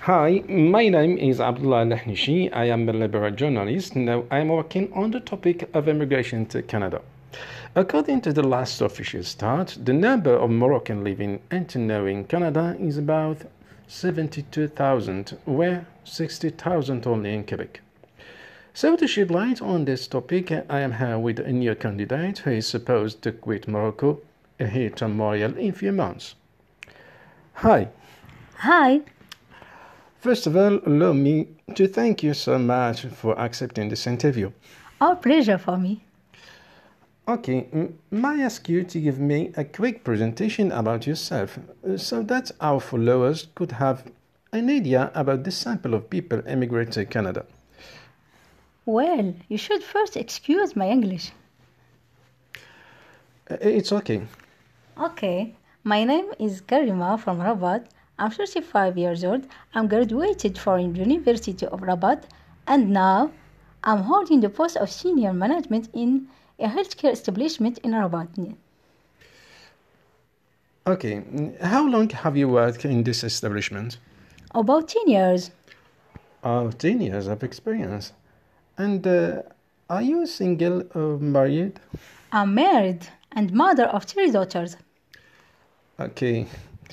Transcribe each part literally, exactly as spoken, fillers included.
Hi, my name is Abdullah Lahnishi. I am a liberal journalist. Now I am working on the topic of immigration to Canada. According to the last official stat, the number of Moroccans living and now in Canada is about seventy-two thousand, where sixty thousand only in Quebec. So to shed light on this topic, I am here with a new candidate who is supposed to quit Morocco here to Montreal in a few months. Hi. Hi. First of all, allow me to thank you so much for accepting this interview. Our pleasure for me. Okay, may I ask you to give me a quick presentation about yourself so that our followers could have an idea about the sample of people emigrate to Canada? Well, you should first excuse my English. It's okay. Okay, my name is Karima from Rabat. I'm thirty-five years old. I'm graduated from the University of Rabat and now I'm holding the post of senior management in a healthcare establishment in Rabat. Okay, how long have you worked in this establishment? About ten years. Oh, ten years of experience. And uh, are you single or married? I'm married and mother of three daughters. Okay.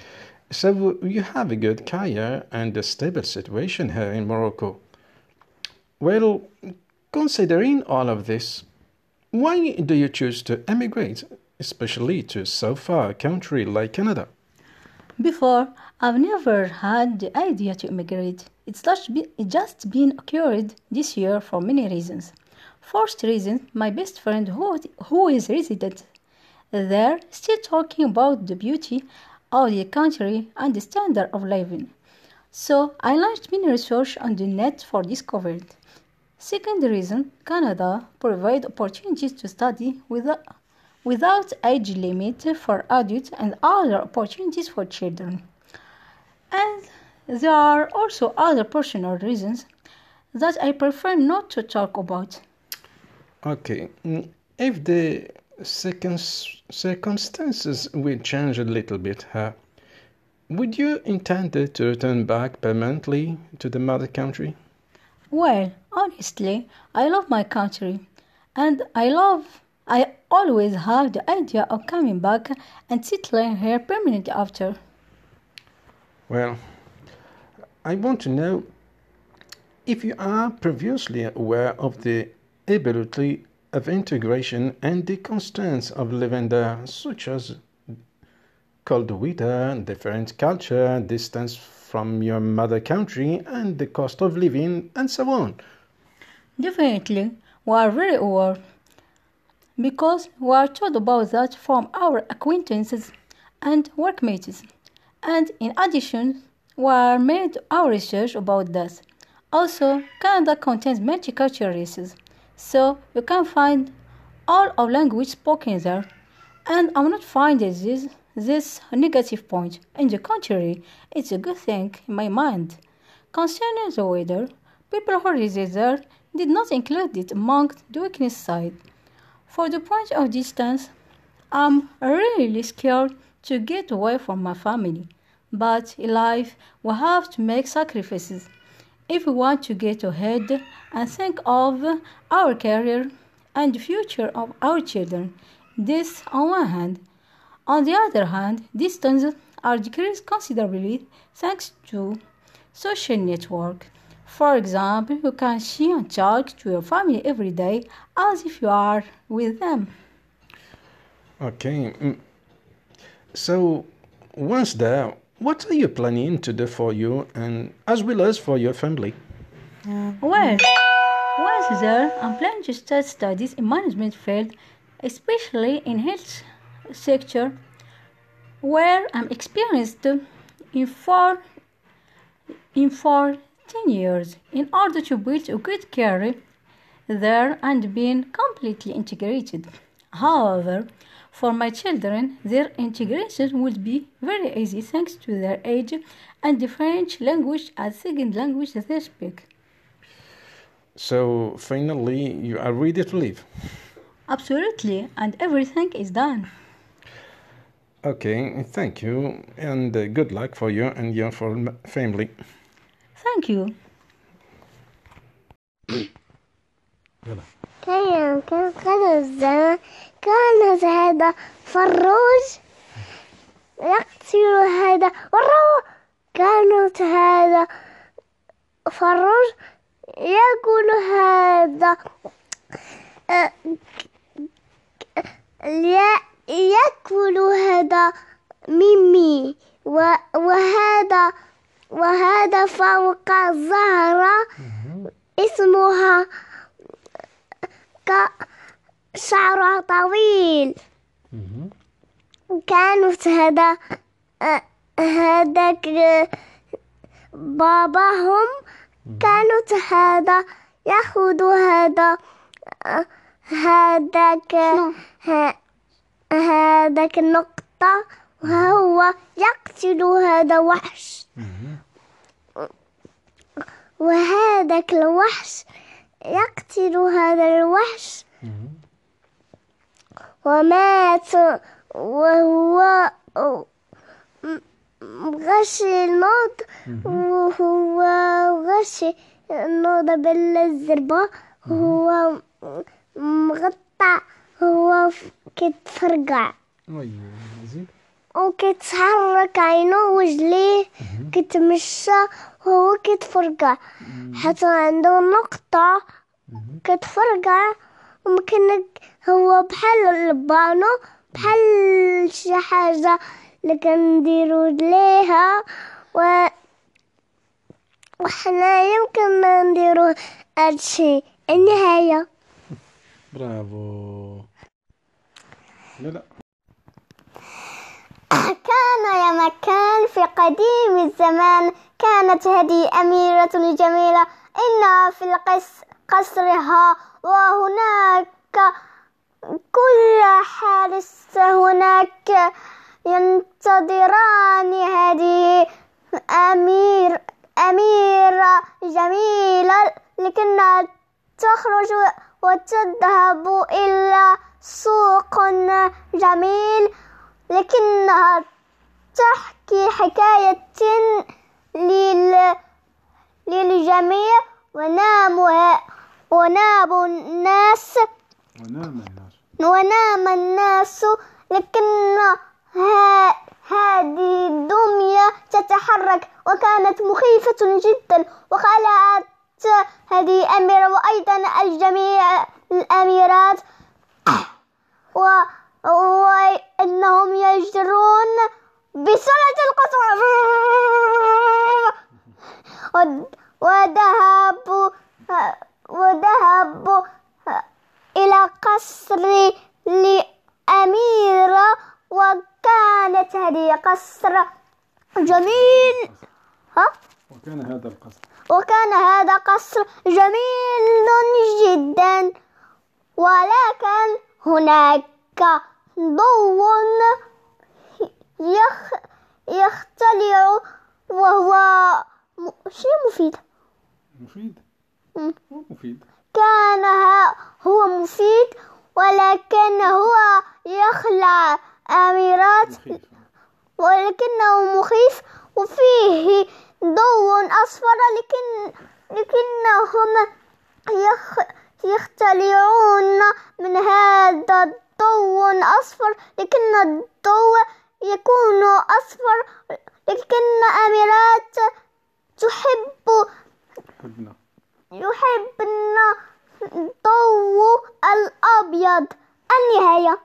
So you have a good career and a stable situation here in Morocco. Well, considering all of this, why do you choose to emigrate, especially to so far a country like Canada? Before, I've never had the idea to immigrate. It's just, be, it's just been occurred this year for many reasons. First reason, my best friend who, who is resident there still talking about the beauty of the country and the standard of living. So I launched many research on the net for discovery. Second reason, Canada provides opportunities to study without, without age limit for adults and other opportunities for children. And there are also other personal reasons that I prefer not to talk about. Okay, if the circumstances will change a little bit here, would you intend to return back permanently to the mother country? Well, honestly, I love my country, and I love, I always have the idea of coming back and settling here permanently after. Well, I want to know if you are previously aware of the ability of integration and the constraints of living there, such as cold weather, different culture, distance from your mother country, and the cost of living, and so on. Definitely, we are very aware, because we are told about that from our acquaintances and workmates. And in addition, we are made our research about that. Also, Canada contains multicultural races, so you can find all of language spoken there. And I'm not finding this this negative point. On the contrary, it's a good thing in my mind. Concerning the weather, people who reside there did not include it among the weakness side. For the point of distance, I'm really scared to get away from my family. But in life, we have to make sacrifices if we want to get ahead and think of our career and the future of our children. This on one hand. On the other hand, distances are decreased considerably thanks to social network. For example, you can see and talk to your family every day as if you are with them. Okay. So, once there, what are you planning to do for you and as well as for your family? Well, once there, I'm planning to start studies in management field, especially in health sector, where I'm experienced in four in for ten years in order to build a good career there and being completely integrated. However, for my children, their integration will be very easy thanks to their age and the French language as second language they speak. So, finally, you are ready to leave? Absolutely, and everything is done. Okay, thank you, and uh, good luck for you and your family. Thank you. يلا. كان كان قدر الزمان كان هذا فروج يقتل هذا والروح كانت هذا فروج يأكل هذا آه، يأكل هذا ميمي وهذا وهذا فوق الزهرة اسمها شعرها طويل. كانت هذا هذاك باباهم كانت هذا يأخذ هذا هذاك هذاك النقطة وهو يقتل هذا وحش وهذاك الوحش يقتل هذا الوحش ومات وهو غشي الموت وهو غشي النوض بالزربة وهو مغطى هو كيتفرقع وكيتحرك عينه وجليه كيتمشى وهو كيتفرقع حتى عنده نقطة كيتفرقع وممكن هو بحال البانو بحال شي حاجة اللي كنديرو ليها و وحنا يمكن نديرو هادشي. النهاية. برافو. لا لا. كان يا مكان في قديم الزمان كانت هذه أميرة جميلة إنها في القصر قصرها وهناك كل حارس هناك ينتظران هذه أمير أميرة جميلة لكنها تخرج وتذهب إلى سوق جميل لكنها تحكي حكاية لل... للجميع ونام ونام الناس ونام الناس ونام الناس لكن ها... هذه الدمية تتحرك وكانت مخيفة جدا وخلعت هذه أميرة وأيضا الجميع الأميرات و... وإنهم يجرون بسرعة القصر وذهبوا وذهبوا إلى قصر لأميرة وكانت هذه قصر جميل ها وكان هذا القصر وكان هذا قصر جميل جدا ولكن هناك ضوء يخ يختلع وهو شيء مفيد مفيد م. هو مفيد كان هو مفيد ولكن هو يخلع أميرات مخيف. ولكنه مخيف وفيه ضوء أصفر لكن لكنهم يخ يختلعون من هذا الضوء أصفر لكن الضوء يكون أصفر لكن أميرات تحب حبنا يحبن الضوء الأبيض. النهاية.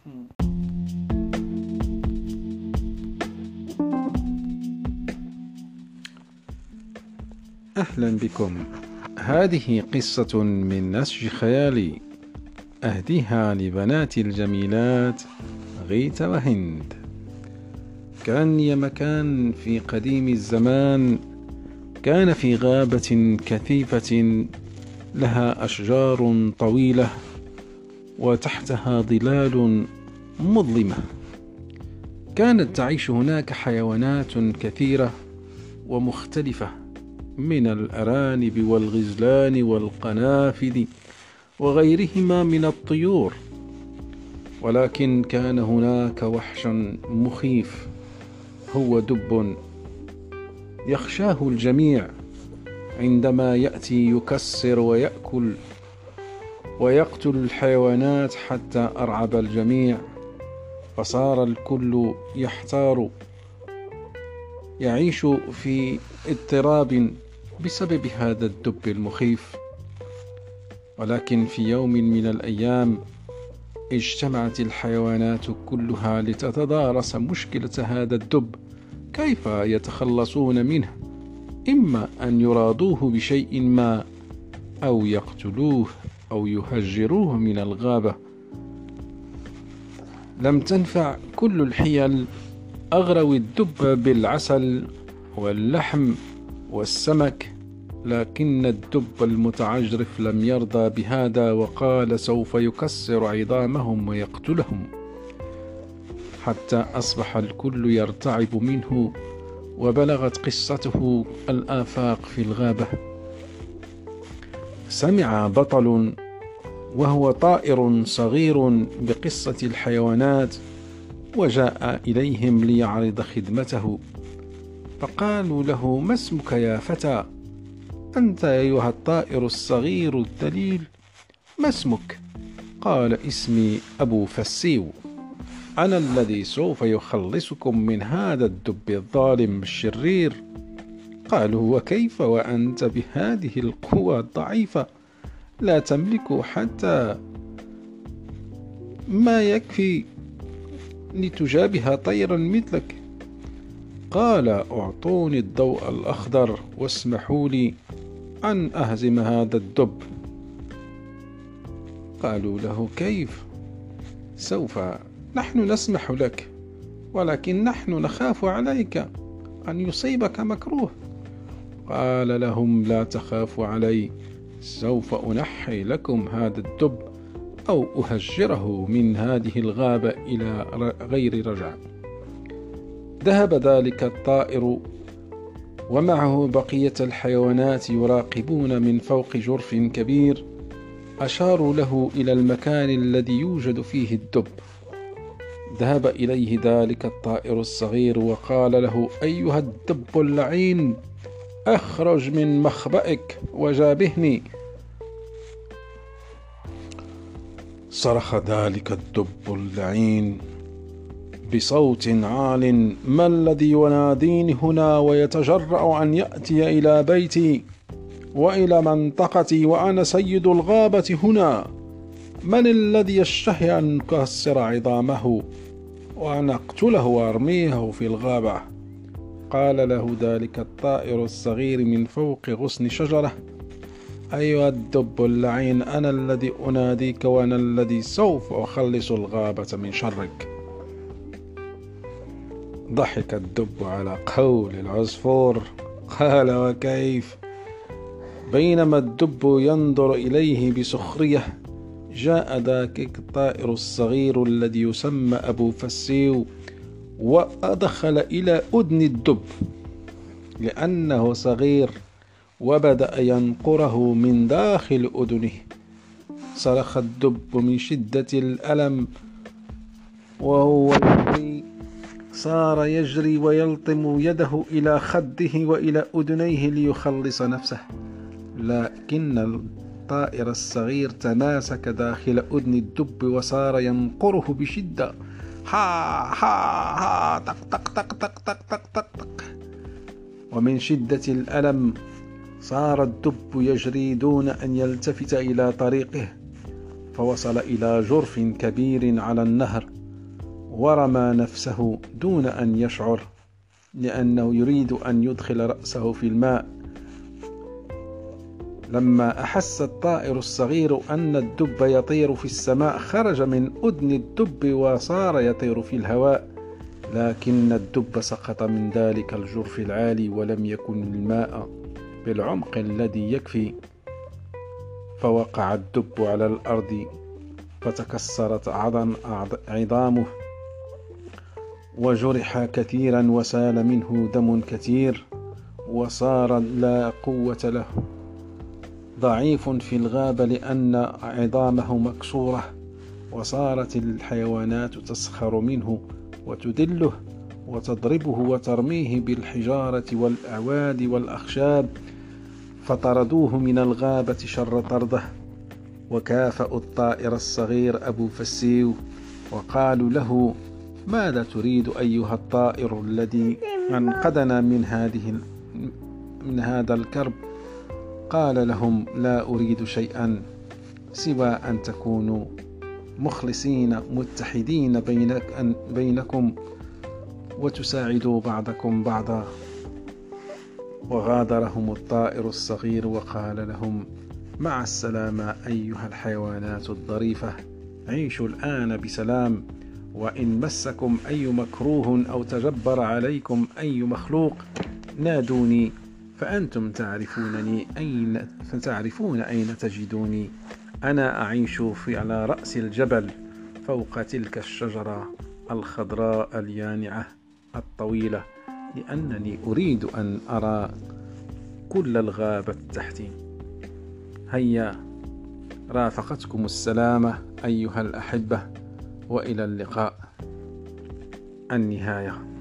أهلا بكم. هذه قصة من نسج خيالي أهديها لبناتي الجميلات غيث وهند. كان يا مكان في قديم الزمان كان في غابة كثيفة لها أشجار طويلة وتحتها ظلال مظلمة. كانت تعيش هناك حيوانات كثيرة ومختلفة من الأرانب والغزلان والقنافذ وغيرهما من الطيور، ولكن كان هناك وحش مخيف هو دب يخشاه الجميع عندما يأتي يكسر ويأكل ويقتل الحيوانات حتى أرعب الجميع، فصار الكل يحتار، يعيش في اضطراب بسبب هذا الدب المخيف. ولكن في يوم من الأيام اجتمعت الحيوانات كلها لتتدارس مشكلة هذا الدب، كيف يتخلصون منه، إما أن يرادوه بشيء ما أو يقتلوه أو يهجروه من الغابة. لم تنفع كل الحيل، أغروا الدب بالعسل واللحم والسمك، لكن الدب المتعجرف لم يرضى بهذا وقال سوف يكسر عظامهم ويقتلهم، حتى أصبح الكل يرتعب منه، وبلغت قصته الآفاق في الغابة. سمع بطل وهو طائر صغير بقصة الحيوانات، وجاء إليهم ليعرض خدمته، فقالوا له: ما اسمك يا فتى؟ أنت أيها الطائر الصغير الدليل، ما اسمك؟ قال: اسمي أبو فسيو، أنا الذي سوف يخلصكم من هذا الدب الظالم الشرير. قالوا: وكيف وأنت بهذه القوة الضعيفة لا تملك حتى ما يكفي لتجابه طيرا مثلك؟ قال: أعطوني الضوء الأخضر واسمحوا لي أن أهزم هذا الدب. قالوا له: كيف؟ سوف نحن نسمح لك، ولكن نحن نخاف عليك أن يصيبك مكروه. قال لهم: لا تخافوا علي، سوف أنحي لكم هذا الدب أو أهجره من هذه الغابة إلى غير رجع. ذهب ذلك الطائر ومعه بقية الحيوانات يراقبون من فوق جرف كبير. أشاروا له إلى المكان الذي يوجد فيه الدب. ذهب إليه ذلك الطائر الصغير وقال له: أيها الدب اللعين، أخرج من مخبئك وجابهني. صرخ ذلك الدب اللعين بصوت عال: ما الذي يناديني هنا ويتجرأ أن يأتي إلى بيتي وإلى منطقتي وأنا سيد الغابة هنا؟ من الذي يشتهي أن أكسر عظامه وأن أقتله وأرميه في الغابة؟ قال له ذلك الطائر الصغير من فوق غصن شجرة: أيها الدب اللعين، أنا الذي أناديك وأنا الذي سوف أخلص الغابة من شرك. ضحك الدب على قول العصفور، قال: وكيف؟ بينما الدب ينظر إليه بسخرية، جاء ذاك الطائر الصغير الذي يسمى أبو فسيو وأدخل إلى أذن الدب لأنه صغير، وبدأ ينقره من داخل أذنه. صرخ الدب من شدة الألم وهو يجري، صار يجري ويلطم يده إلى خده وإلى أذنيه ليخلص نفسه، لكن الطائر الصغير تماسك داخل أذن الدب وصار ينقره بشدة. ها ها ها تق تق تق تق تق تق تق تق. ومن شدة الألم صار الدب يجري دون أن يلتفت إلى طريقه، فوصل إلى جرف كبير على النهر، ورمى نفسه دون أن يشعر، لأنه يريد أن يدخل رأسه في الماء. لما أحس الطائر الصغير أن الدب يطير في السماء، خرج من أذن الدب وصار يطير في الهواء، لكن الدب سقط من ذلك الجرف العالي ولم يكن الماء بالعمق الذي يكفي، فوقع الدب على الأرض فتكسرت عظم عظامه وجرح كثيرا وسال منه دم كثير، وصار لا قوة له، ضعيف في الغابة لأن عظامه مكسورة. وصارت الحيوانات تسخر منه وتدله وتضربه وترميه بالحجارة والأعواد والأخشاب، فطردوه من الغابة شر طرده، وكافأوا الطائر الصغير أبو فسيو وقالوا له: ماذا تريد أيها الطائر الذي أنقذنا من هذه من هذا الكرب؟ قال لهم: لا أريد شيئا سوى أن تكونوا مخلصين متحدين بينك بينكم وتساعدوا بعضكم بعضا. وغادرهم الطائر الصغير وقال لهم: مع السلامة أيها الحيوانات الظريفة، عيشوا الآن بسلام، وإن مسكم أي مكروه أو تجبر عليكم أي مخلوق نادوني، فأنتم تعرفونني أين فتعرفون أين تجدوني. أنا أعيش في على رأس الجبل فوق تلك الشجرة الخضراء اليانعة الطويلة، لأنني أريد أن أرى كل الغابة تحتي. هيا، رافقتكم السلامة أيها الأحبة، وإلى اللقاء. النهاية.